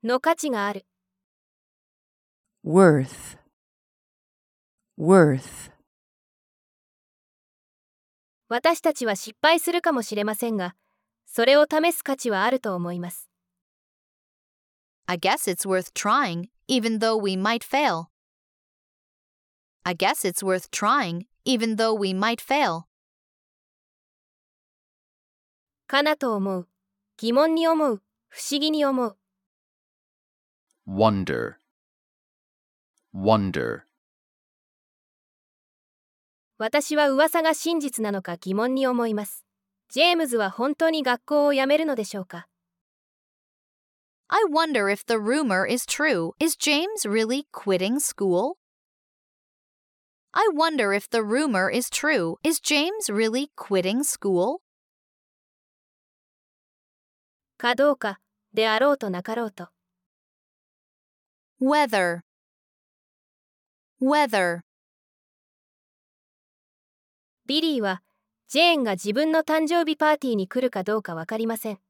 の価値がある。 worth, worth. 私たちは失敗するかもしれませんが、それを試す価値はあると思います。 I guess it's worth trying, even though we might fail. I guess it's worth trying, even though we might fail. かなと思う。疑問に思う。不思議に思う。 wonder, wonder. 私は噂が真実なのか疑問に思います。ジェームズは本当に学校を辞めるのでしょうか？ I wonder if the rumor is true. Is James really quitting school? I wonder if the rumor is true. Is James really quitting school? かどうか、であろうとなかろうと。 Whether, whether. ビリーは、ジェーンが自分の誕生日パーティーに来るかどうかわかりません。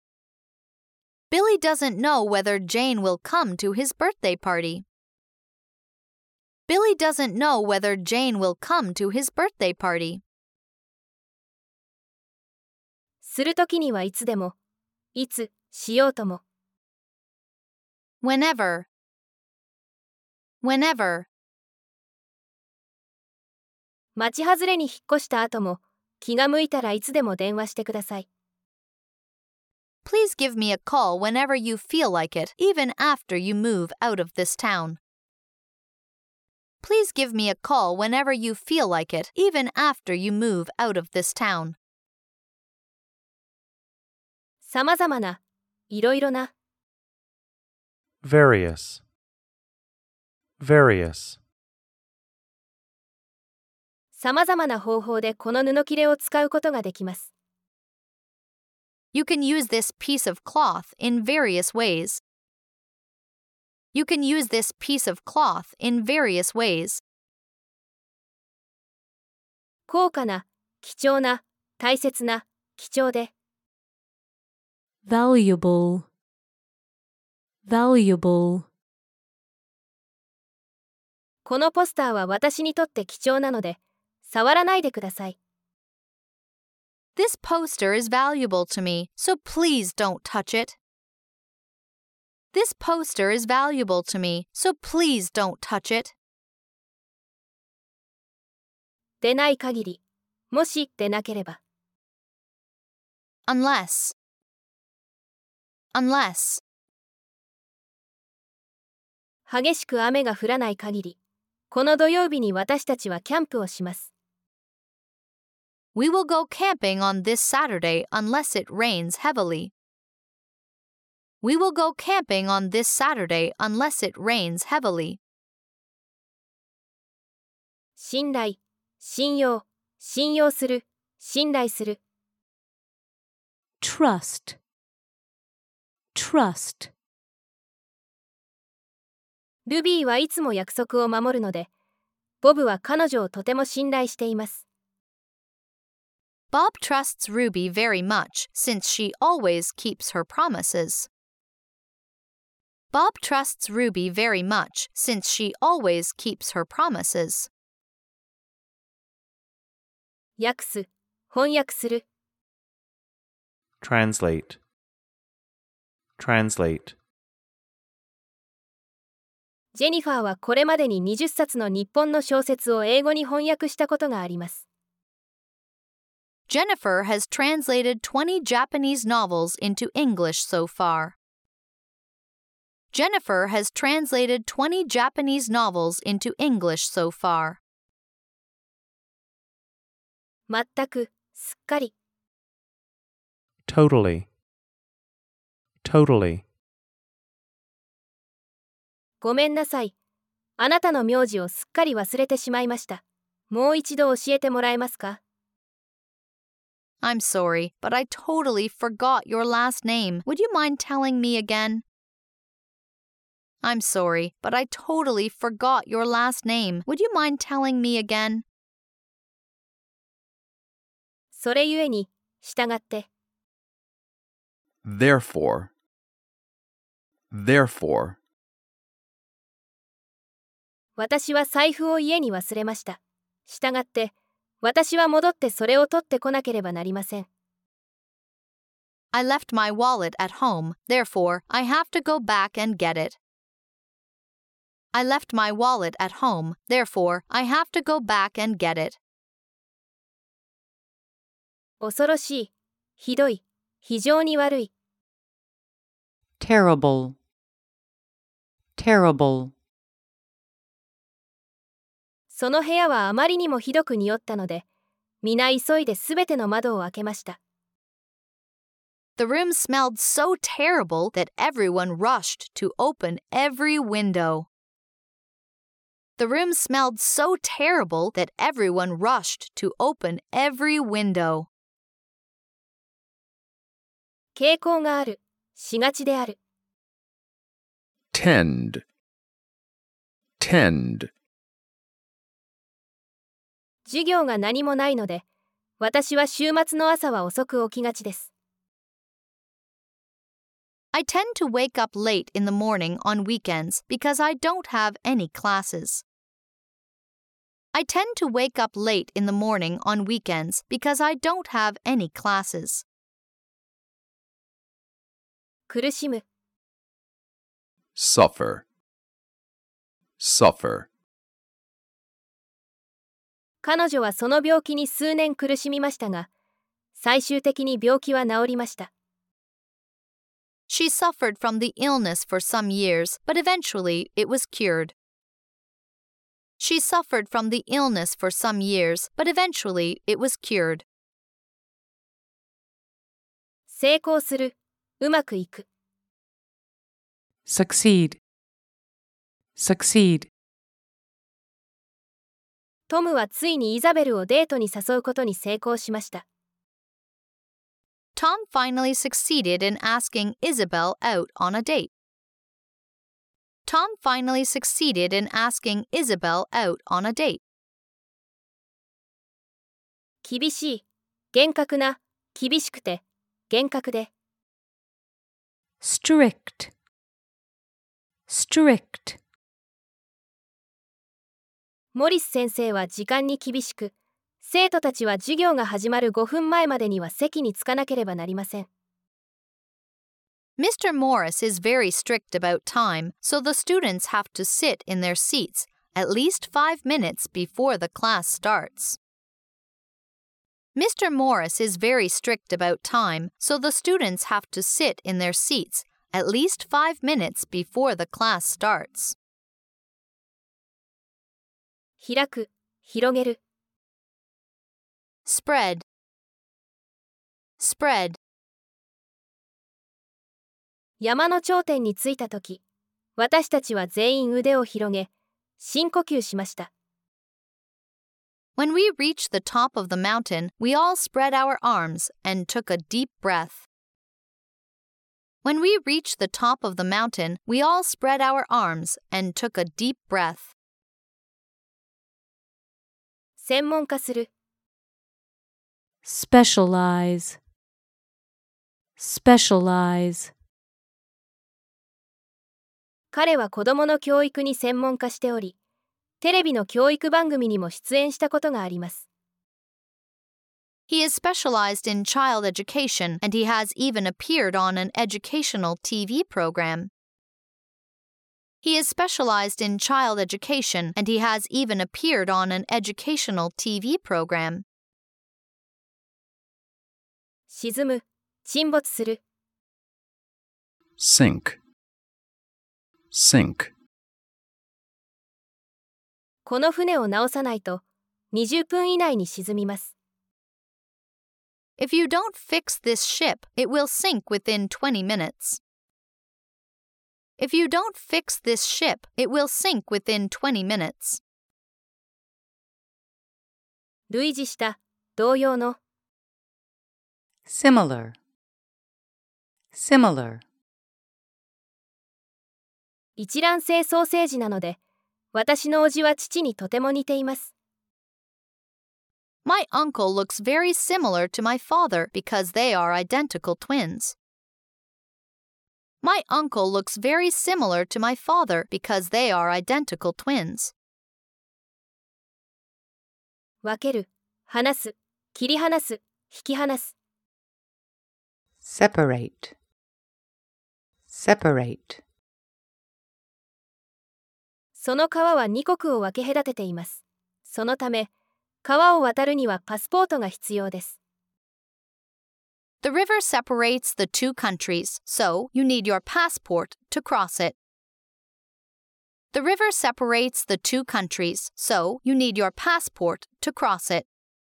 Billy doesn't know whether Jane will come to his birthday party. Billy doesn't know whether Jane will come to his birthday party. するときにはいつでも、いつ、しようとも。 Whenever, whenever. 町外れに引っ越した後も、気が向いたらいつでも電話してください。 Please give me a call whenever you feel like it, even after you move out of this town. Please give me a call whenever you feel like it, even after you move out of this town. さまざまな、いろいろな。 various, various. さまざまな方法でこの布切れを使うことができます。 You can use this piece of cloth in various ways. You can use this piece of cloth in various ways. 高価な、貴重な、大切な、貴重で。 valuable, valuable. このポスターは私にとって貴重なので、触らないでください。 This poster is valuable to me, so please don't touch it. This poster is valuable to me, so please don't touch it. でない限り、もしでなければ。 Unless, unless. 激しく雨が降らない限り、この土曜日に私たちはキャンプをします。 We will go camping on this Saturday unless it rains heavily. We will go camping on this Saturday unless it rains heavily. 信頼、信用、信用する、信頼する。 trust, trust. ルビーはいつも約束を守るので、ボブは彼女をとても信頼しています。 Bob trusts Ruby very much since she always keeps her promises. Bob trusts Ruby very much since she always keeps her promises. 訳す、翻訳する。 translate, translate. ジェニファーはこれまでに20冊の日本の小説を英語に翻訳したことがあります。 Jennifer has translated 20 Japanese novels into English so far. Jennifer has translated 20 Japanese novels into English so far. 全く、すっかり。 totally, totally. ごめんなさい。あなたの名字をすっかり忘れてしまいました。もう一度教えてもらえますか？ I'm sorry, but I totally forgot your last name. Would you mind telling me again? I'm sorry, but I totally forgot your last name. Would you mind telling me again? それゆえに、従って。 therefore, Therefore, 私は財布を家に忘れました。したがって、私は戻ってそれを取ってこなければなりません。 I left my wallet at home, therefore I have to go back and get it. I left my wallet at home, therefore I have to go back and get it. 恐ろしい、ひどい、非常に悪い。 terrible, terrible. その部屋はあまりにもひどく匂ったので、皆急いですべての窓を開けました。 The room smelled so terrible that everyone rushed to open every window. The room smelled so terrible that everyone rushed to open every window. 傾向がある、しがちである。 tend, tend. 授業が何もないので、私は週末の朝は遅く起きがちです。 I tend to wake up late in the morning on weekends because I don't have any classes. I tend to wake up late in the morning on weekends because I don't have any classes. 苦しむ、 suffer, suffer. 彼女はその病気に数年苦しみましたが、最終的に病気は治りました。 She suffered from the illness for some years, but eventually it was cured. She suffered from the illness for some years, but eventually it was cured. 成功する、うまくいく。 succeed, succeed. トムはついにイザベルをデートに誘うことに成功しました。 Tom finally succeeded in asking Isabel out on a date. Tom finally succeeded in asking Isabel out on a date. 厳しい、厳格な、厳しくて、厳格で。 strict, strict. モリス先生は時間に厳しく、生徒たちは授業が始まる5分前までには席に着かなければなりません。 Mr. Morris is very strict about time, so the students have to sit in their seats at least 5 minutes before the class starts. Mr. Morris is very strict about time, so the students have to sit in their seats at least 5 minutes before the class starts. 開く、広げる。 Spread, spread. 山の頂点に着いたとき、私たちは全員腕を広げ、深呼吸しました。 When we reached the top of the mountain, we all spread our arms and took a deep breath. When we reached the top of the mountain, we all spread our arms and took a deep breath. 専門化する、 specialize, specialize. 彼は子供の教育に専門化しており、テレビの教育番組にも出演したことがあります。 He is specialized in child education and he has even appeared on an educational TV program. He is specialized in child education and he has even appeared on an educational TV program. 沈む、沈没する。 sink, sink. この船を直さないと、20分以内に沈みます。 If you don't fix this ship, it will sink within 20 minutes. If you don't fix this ship, it will sink within 20 minutes. 類似した、同様の。 similar, similar. 一卵性ソーセージなので、私の叔父は父にとても似ています。 My uncle looks very similar to my father because they are identical twins. My uncle looks very similar to my father because they are identical twins. 分ける、離す、切り離す、引き離す。 separate, separate. その川は2国を分け隔てています。そのため、川を渡るにはパスポートが必要です。 The river separates the two countries, so you need your passport to cross it. The river separates the two countries, so you need your passport to cross it.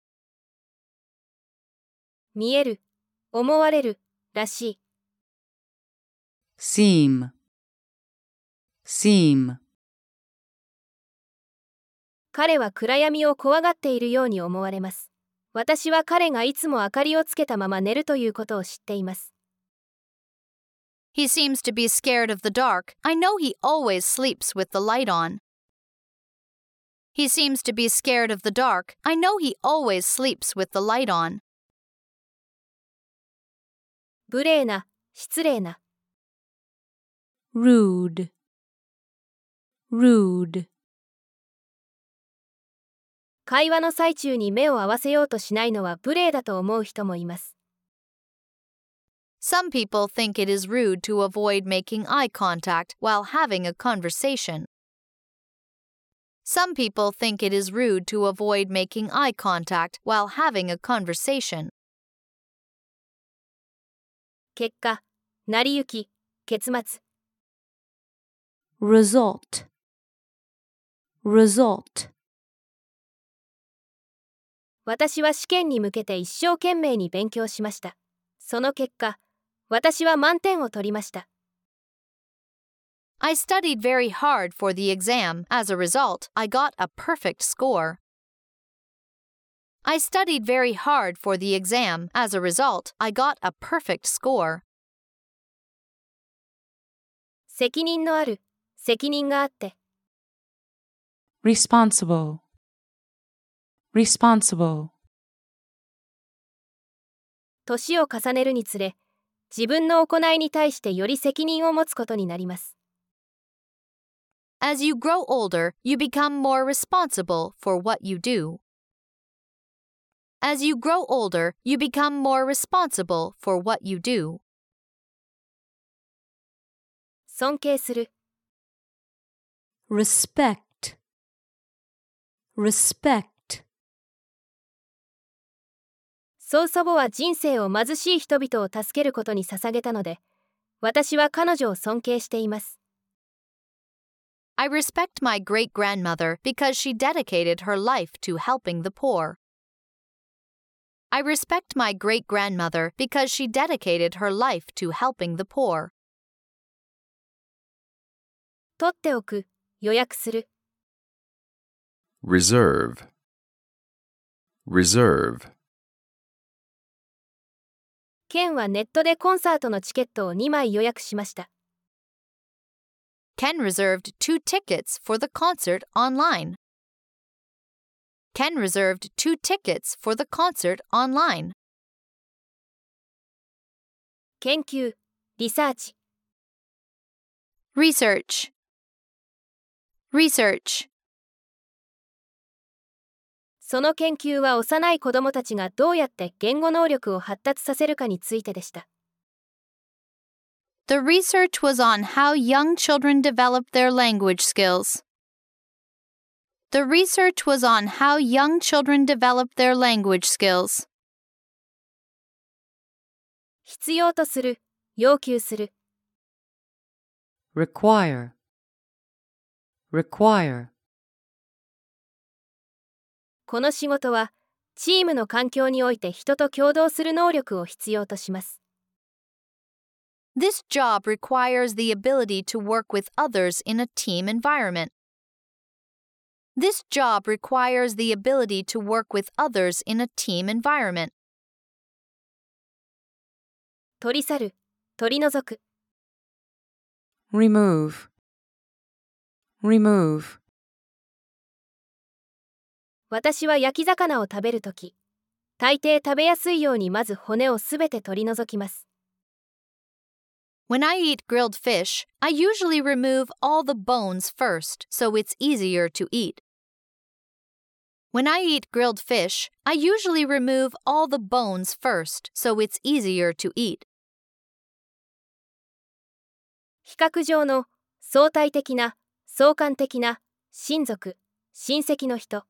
見える、思われる、らしい。 seem, seem. 彼は暗闇を怖がっているように思われます。私は彼がいつも明かりをつけたまま寝るということを知っています。 He seems to be scared of the dark. I know he always sleeps with the light on. He seems to be scared of the dark. I know he always sleeps with the light on. 無礼な、失礼な。 rude, rude. 会話の最中に目を合わせようとしないのは無礼だと思う人もいます。 Some people think it is rude to avoid making eye contact while having a conversation. Some people think it is rude to avoid making eye contact while having a conversation. 結果、成り行き、結末。 result, result. 私は試験に向けて一生懸命に勉強しました。その結果、私は満点を取りました。 I studied very hard for the exam. As a result, I got a perfect score. I studied very hard for the exam. As a result, I got a perfect score. 責任のある、責任があって。 responsible, responsible. 年を重ねるにつれ、自分の行いに対してより責任を持つことになります。 As you grow older, you become more responsible for what you do. As you grow older, you become more responsible for what you do. 尊敬する。 respect, respect. 曽祖母は人生を貧しい人々を助けることに捧げたので、私は彼女を尊敬しています。 I respect my great-grandmother because she dedicated her life to helping the poor. I respect my great-grandmother because she dedicated her life to helping the poor. 取っておく、予約する。 reserve, reserve. ケンはネットでコンサートのチケットを2枚予約しました。 Ken reserved 2 tickets for the concert online. Ken reserved 2 tickets for the concert online. 研究、リサーチ。 Research, research. その研究は幼い子供たちがどうやって言語能力を発達させるかについてでした。 The research was on how young children develop their language skills. The research was on how young children develop their language skills. 必要とする、要求する。 require, require. この仕事は、チームの環境において人と協働する能力を必要とします。 This job requires the ability to work with others in a team environment. This job requires the ability to work with others in a team environment. 取り去る、取り除く。 remove, remove. 私は焼き魚を食べるとき、大抵食べやすいようにまず骨をすべて取り除きます。 When I eat grilled fish, I usually remove all the bones first so it's easier to eat. When I eat grilled fish, I usually remove all the bones first so it's easier to eat. 比較上の、相対的な、相関的な、親族、親戚の人。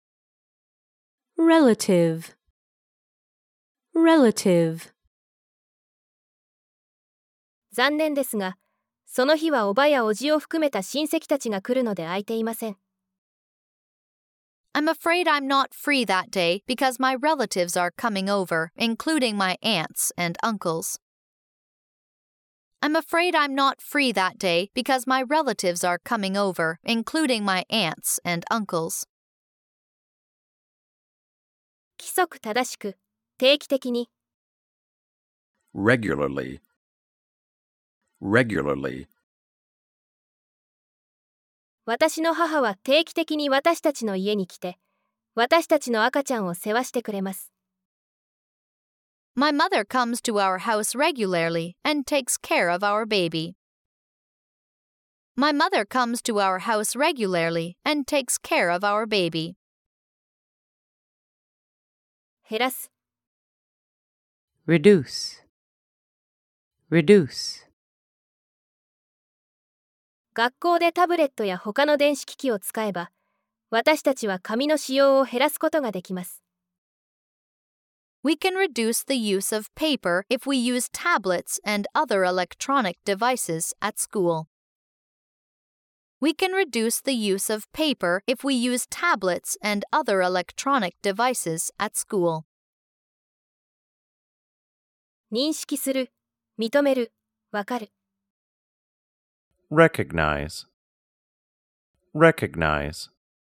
relative, relative. 残念ですが、その日はおばやおじを含めた親戚たちが来るので空いていません。 I'm afraid I'm not free that day because my relatives are coming over, including my aunts and uncles. I'm afraid I'm not free that day because my relatives are coming over, including my aunts and uncles. 規則正しく、定期的に。 regularly, regularly. 私の母は定期的に私たちの家に来て、私たちの赤ちゃんを世話してくれます。 My mother comes to our house regularly and takes care of our baby. My mother comes to our house regularly and takes care of our baby. 減らす。 reduce, reduce. 学校でタブレットや他の電子機器を使えば、私たちは紙の使用を減らすことができます。 We can reduce the use of paper if we use tablets and other electronic devices at school. We can reduce the use of paper if we use tablets and other electronic devices at school. 認識する、認める、わかる。 recognize, recognize.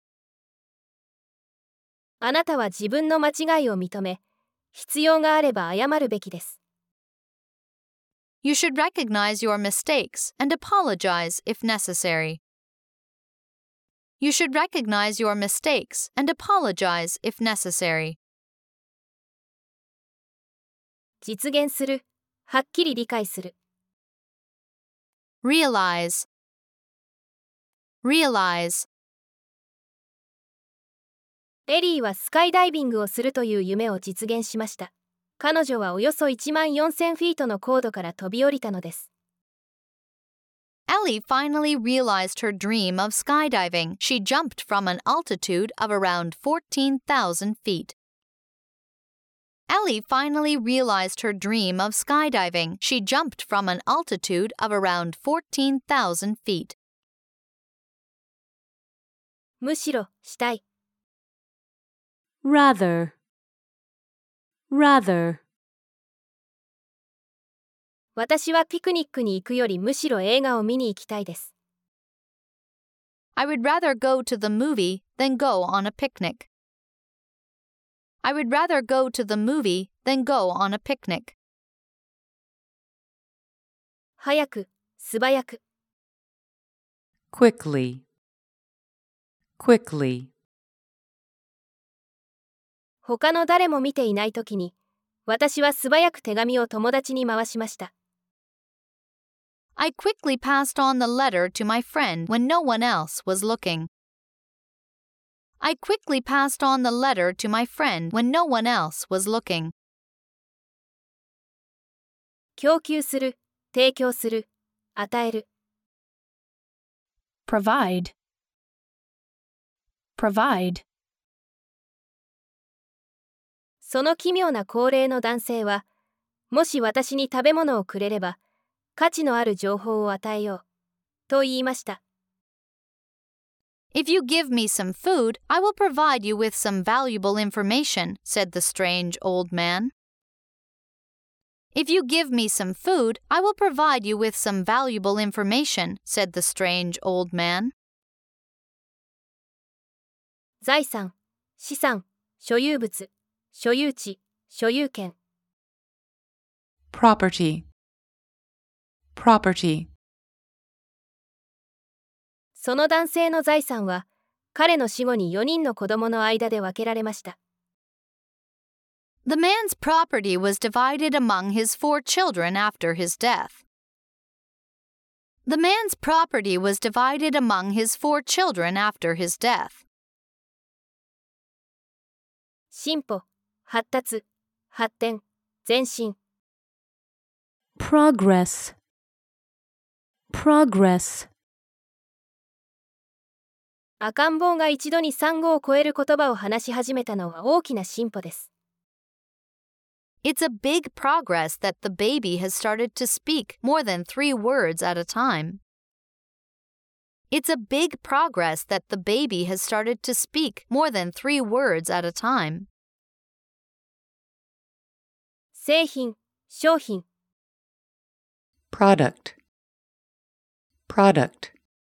あなたは自分の間違いを認め、必要があれば謝るべきです。 You should recognize your mistakes and apologize if necessary. You should recognize your mistakes and apologize if necessary. 実現する、はっきり理解する。 Realize, realize. エリーはスカイダイビングをするという夢を実現しました。彼女はおよそ14,000フィートの高度から飛び降りたのです。 Ellie finally realized her dream of skydiving. She jumped from an altitude of around 14,000 feet. Ellie finally realized her dream of skydiving. She jumped from an altitude of around 14,000 feet. むしろ、したい。 rather, rather. 私はピクニックに行くよりむしろ映画を見に行きたいです。 I would rather go to the movie than go on a picnic. I would rather go to the movie than go on a picnic. 早く、素早く。 quickly, quickly. 他の誰も見ていないときに、私は素早く手紙を友達に回しました。 I quickly passed on the letter to my friend when no one else was looking. I quickly passed on the letter to my friend when no one else was looking. 供給する、提供する、与える。 provide, provide. その奇妙な高齢の男性は、もし私に食べ物をくれれば、価値のある情報を与えよう、と言いました。 If you give me some food, I will provide you with some valuable information, said the strange old man. If you give me some food, I will provide you with some valuable information, said the strange old man. 財産、資産、所有物、所有地、所有権。 property, property. その男性の財産は、彼の死後に4人の子供の間で分けられました。 The man's property was divided among his 4 children after his death. The man's property was divided among his 4 children after his death. 進歩、発達、発展、前進。 Progress. Progress. 赤ん坊が一度に産後を超える言葉を話し始めたのは大きな進歩です。 It's a big progress that the baby has started to speak more than 3 words at a time. It's a big progress that the baby has started to speak more than 3 words at a time. 製品、商品。 Product. Product.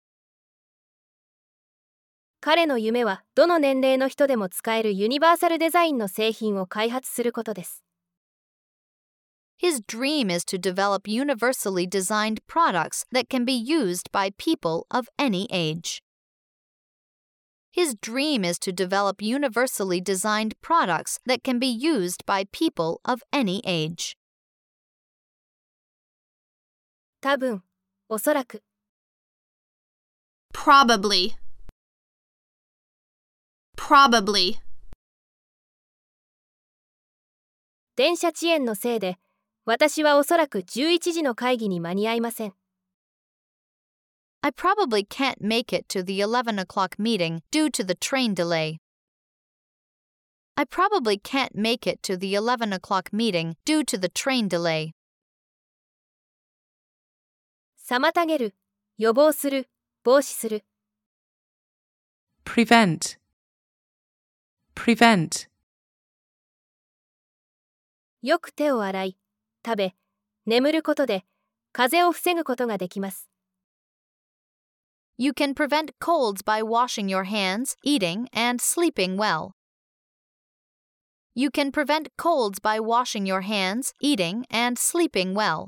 彼の夢はどの年齢の人でも使えるユニバーサルデザインの製品を開発することです。 His dream is to develop universally designed products that can be used by people of any age. His dream is to develop universally designed products that can be used by people of any age. 多分、おそらく。 Probably. Probably. 電車遅延のせいで、私はおそらく11時の会議に間に合いません。 I probably can't make it to the 11 o'clock meeting due to the train delay. I probably can't make it to the 11 o'clock meeting due to the train delay. 妨げる、予防する、防止する。 Prevent. Prevent. よく手を洗い、食べ、眠ることで風邪を防ぐことができます。 You can prevent colds by washing your hands, eating, and sleeping well. You can prevent colds by washing your hands, eating, and sleeping well.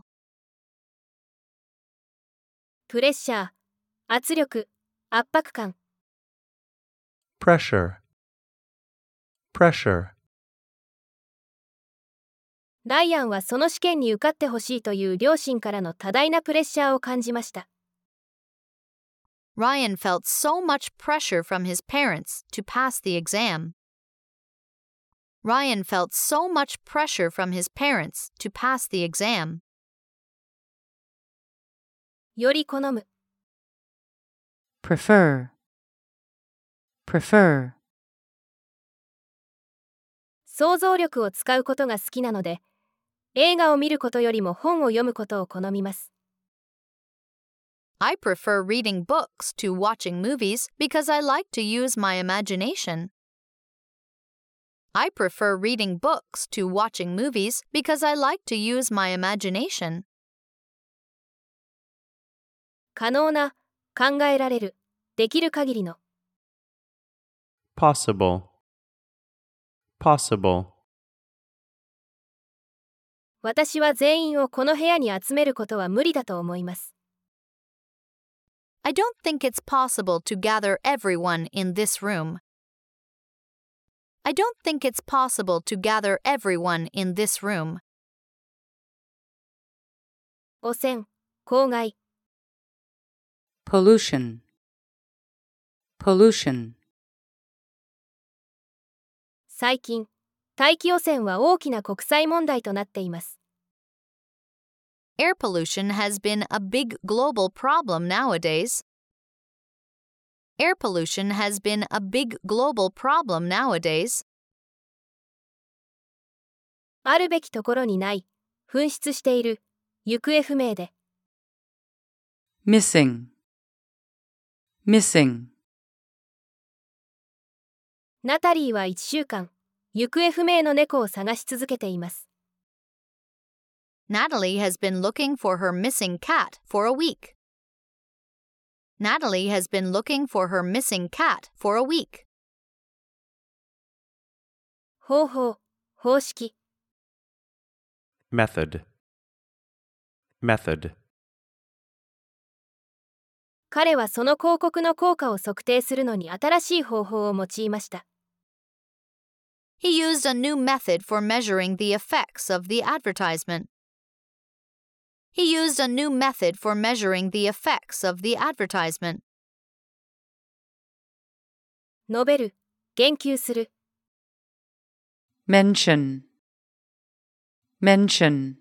プレッシャー、圧力、圧迫感。 Pressure. Pressure. ライアンはその試験に受かってほしいという両親からの多大なプレッシャーを感じました。 Ryan felt so much pressure from his parents to pass the exam. Ryan felt so much pressure from his parents to pass the exam. より好む。 Prefer. Prefer. 想像力を使うことが好きなので、映画を見ることよりも本を読むことを好みます。 I prefer reading books to watching movies because I like to use my imagination. I prefer reading books to watching movies because I like to use my imagination. 可能な、考えられる、できる限りの。 Possible. Possible. 私は全員をこの部屋に集めることは無理だと思います。 I don't think it's possible to gather everyone in this room. I don't think it's possible to gather everyone in this room. 汚染、公害。 Pollution. Pollution. 最近、大気汚染は大きな国際問題となっています。 Air pollution has been a big global problem nowadays. Air pollution has been a big global problem nowadays. あるべきところにない、紛失している、行方不明で。 Missing. Missing. ナタリーは1週間、行方不明の猫を探し続けています。 Natalie has been looking for her missing cat for a week. Natalie has been looking for her missing cat for a week. 方法、方式。 Method. Method. 彼はその広告の効果を測定するのに新しい方法を用いました。 He used a new method for measuring the effects of the advertisement. He used a new method for measuring the effects of the advertisement. 述べる、言及する。 mention, mention.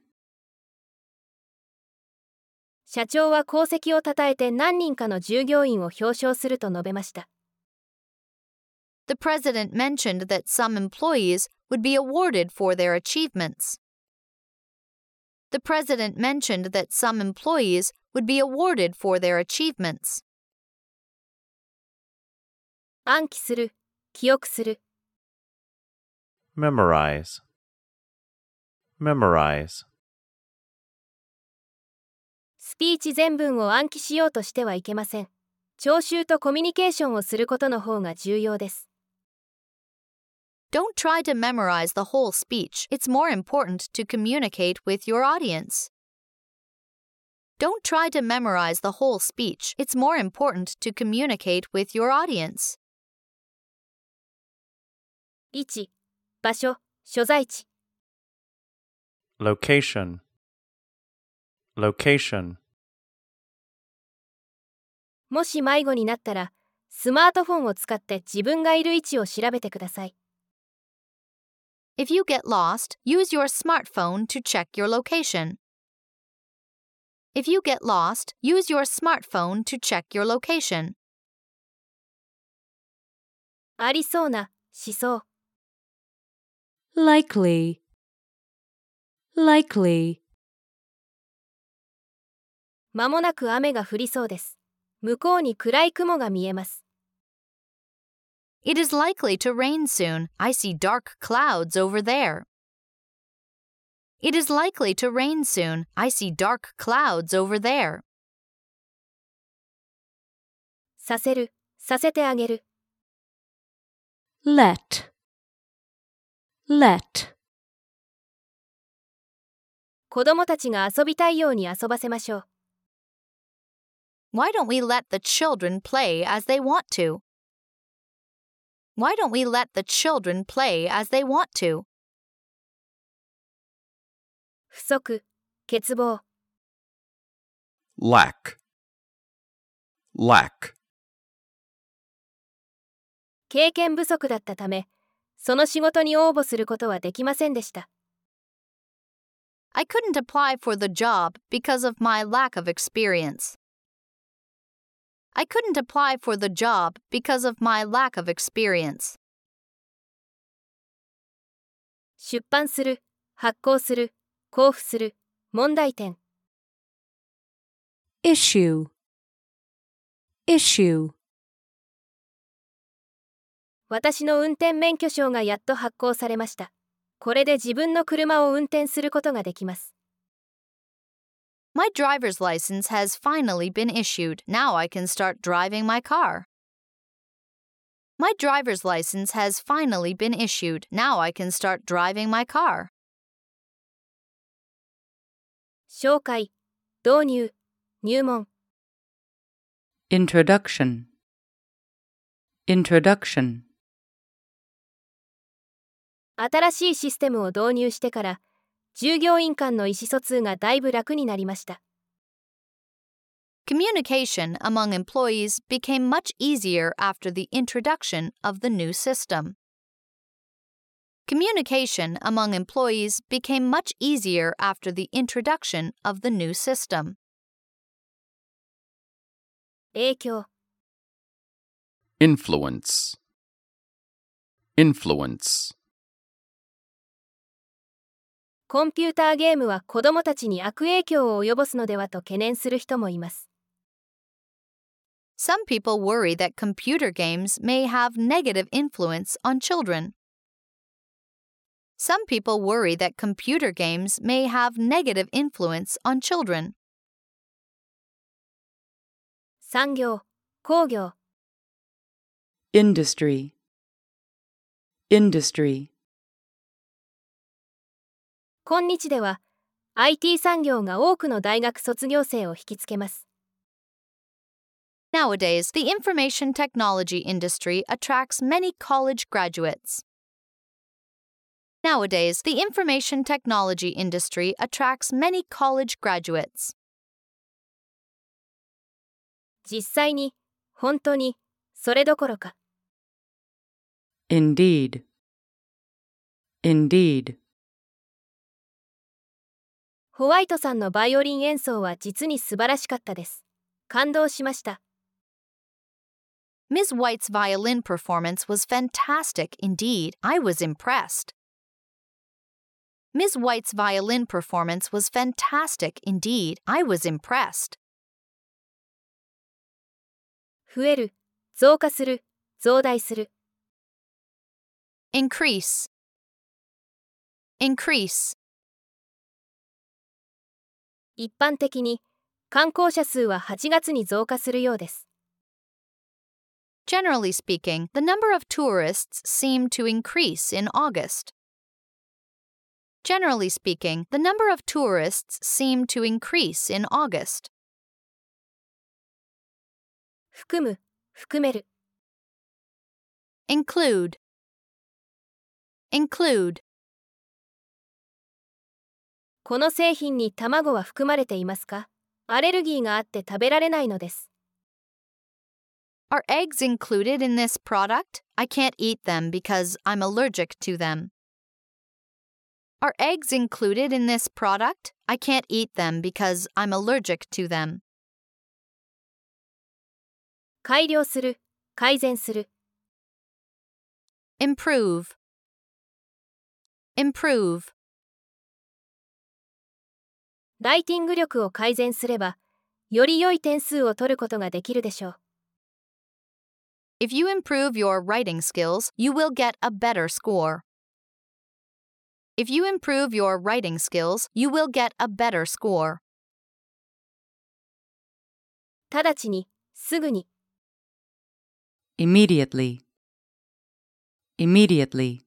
社長は功績を称えて何人かの従業員を表彰すると述べました。 The president mentioned that some employees would be awarded for their achievements. The president mentioned that some employees would be awarded for their achievements. 暗記する、記憶する。 memorize, memorize. スピーチ全文を暗記しようとしてはいけません。聴衆とコミュニケーションをすることの方が重要です。 Don't try to memorize the whole speech. It's more important to communicate with your audience. Don't try to memorize the whole speech. It's more important to communicate with your audience. 1、場所、所在地。 location, location. もし迷子になったら、スマートフォンを使って自分がいる位置を調べてください。 If you get lost, use your smartphone to check your location. If you get lost, use your smartphone to check your location. ありそうな、しそう。 likely, likely. まもなく雨が降りそうです。向こうに暗い雲が見えます。 It is likely to rain soon. I see dark clouds over there. It is likely to rain soon. I see dark clouds over there. させる、させてあげる。 let, let. 子供たちが遊びたいように遊ばせましょう。 Why don't we let the children play as they want to? Why don't we let the children play as they want to? 不足、欠乏。 lack, lack. 経験不足だったため、その仕事に応募することはできませんでした。 I couldn't apply for the job because of my lack of experience. I couldn't apply for the job because of my lack of experience. 出版する、発行する、交付する、問題点。 issue, issue. 私の運転免許証がやっと発行されました。これで自分の車を運転することができます。 My driver's license has finally been issued. Now I can start driving my car. My driver's license has finally been issued. Now I can start driving my car. 紹介、導入、入門。 introduction, introduction. 新しいシステムを導入してから、従業員間の意思疎通がだいぶ楽になりました。 Communication among employees became much easier after the introduction of the new system. Communication among employees became much easier after the introduction of the new system. 影響、 influence, influence. コンピューターゲームは子どもたちに悪影響を及ぼすのではと懸念する人もいます。 Some people worry that computer games may have negative influence on children. Some people worry that computer games may have negative influence on children. 産業、工業。 industry, industry. 今日では IT 産業が多くの大学卒業生を引きつけます。 Nowadays, the information technology industry attracts many college graduates. Nowadays, the information technology industry attracts many college graduates. 実際に、本当に、それどころか。 Indeed. Indeed. ホワイトさんのバイオリン演奏は実に素晴らしかったです。感動しました。 Ms. White's violin performance was fantastic indeed. I was impressed. Ms. White's violin performance was fantastic indeed. I was impressed. 増える、増加する、増大する。 Increase. Increase. 一般的に、観光者数は8月に増加するようです。 Generally speaking, the number of tourists seem to increase in August. Generally speaking, the number of tourists seem to increase in August. 含む、含める。 Include. Include. この製品に卵は含まれていますか？アレルギーがあって食べられないのです。 Are eggs included in this product? I can't eat them because I'm allergic to them. Are eggs included in this product? I can't eat them because I'm allergic to them. 改良する、改善する。 Improve. Improve. ライティング力を改善すれば、より良い点数を取ることができるでしょう。 If you improve your writing skills, you will get a better score. If you improve your writing skills, you will get a better score. 直ちに、すぐに。 Immediately. Immediately.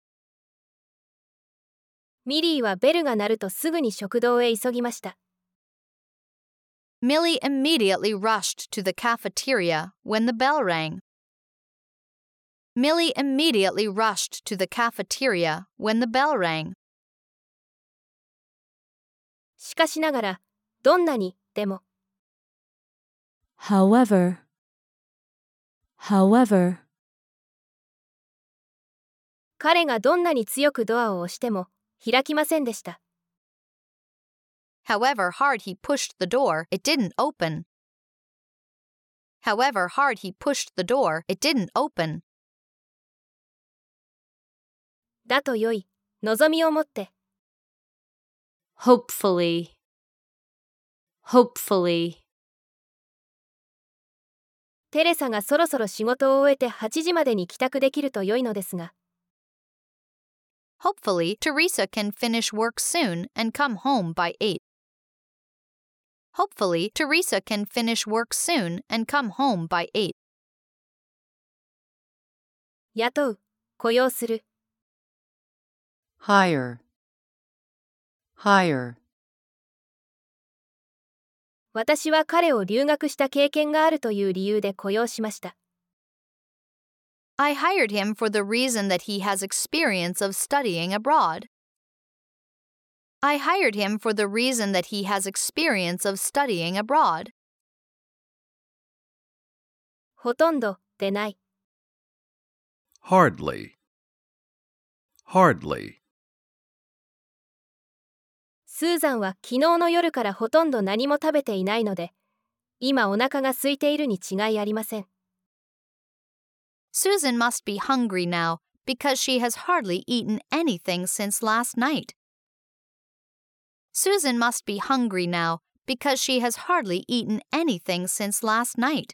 ミリーはベルが鳴るとすぐに食堂へ急ぎました。 Millie immediately rushed to the cafeteria when the bell rang. Millie immediately rushed to the cafeteria when the bell rang. しかしながら、どんなに、でも。 However. However. 彼がどんなに強くドアを押しても、開きませんでした。 However hard he pushed the door, it didn't open. However hard he pushed the door, it didn't open. だとよい、望みを持って。 Hopefully. Hopefully. テレサがそろそろ仕事を終えて8時までに帰宅できると良いのですが。 Hopefully, Teresa can finish work soon and come home by 8. Hopefully, Teresa can finish work soon and come home by 8. 雇う、雇用する。 Hire. Hire. 私は彼を留学した経験があるという理由で雇用しました。 I hired him for the reason that he has experience of studying abroad. I hired him for the reason that he has experience of studying abroad. ほとんど、でない。 Hardly. Hardly. スーザンは昨日の夜からほとんど何も食べていないので、今お腹が空いているに違いありません。 Susan must be hungry now because she has hardly eaten anything since last night. Susan must be hungry now because she has hardly eaten anything since last night.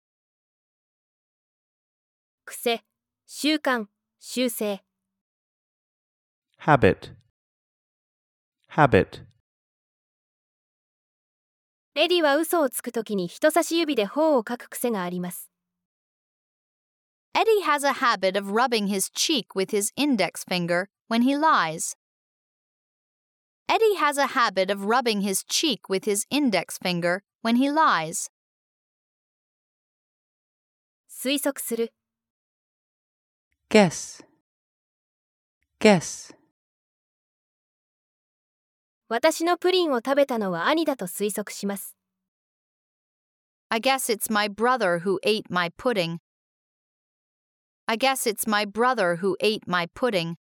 癖、習慣、習性。 Habit. Habit. エディは嘘をつくときに人差し指で頬をかく癖があります。 Eddie has a habit of rubbing his cheek with his index finger when he lies. Eddie has a habit of rubbing his cheek with his index finger when he lies. 推測する。 Guess. Guess. 私のプリンを食べたのは兄だと推測します。 I guess it's my brother who ate my pudding. I guess it's my brother who ate my pudding.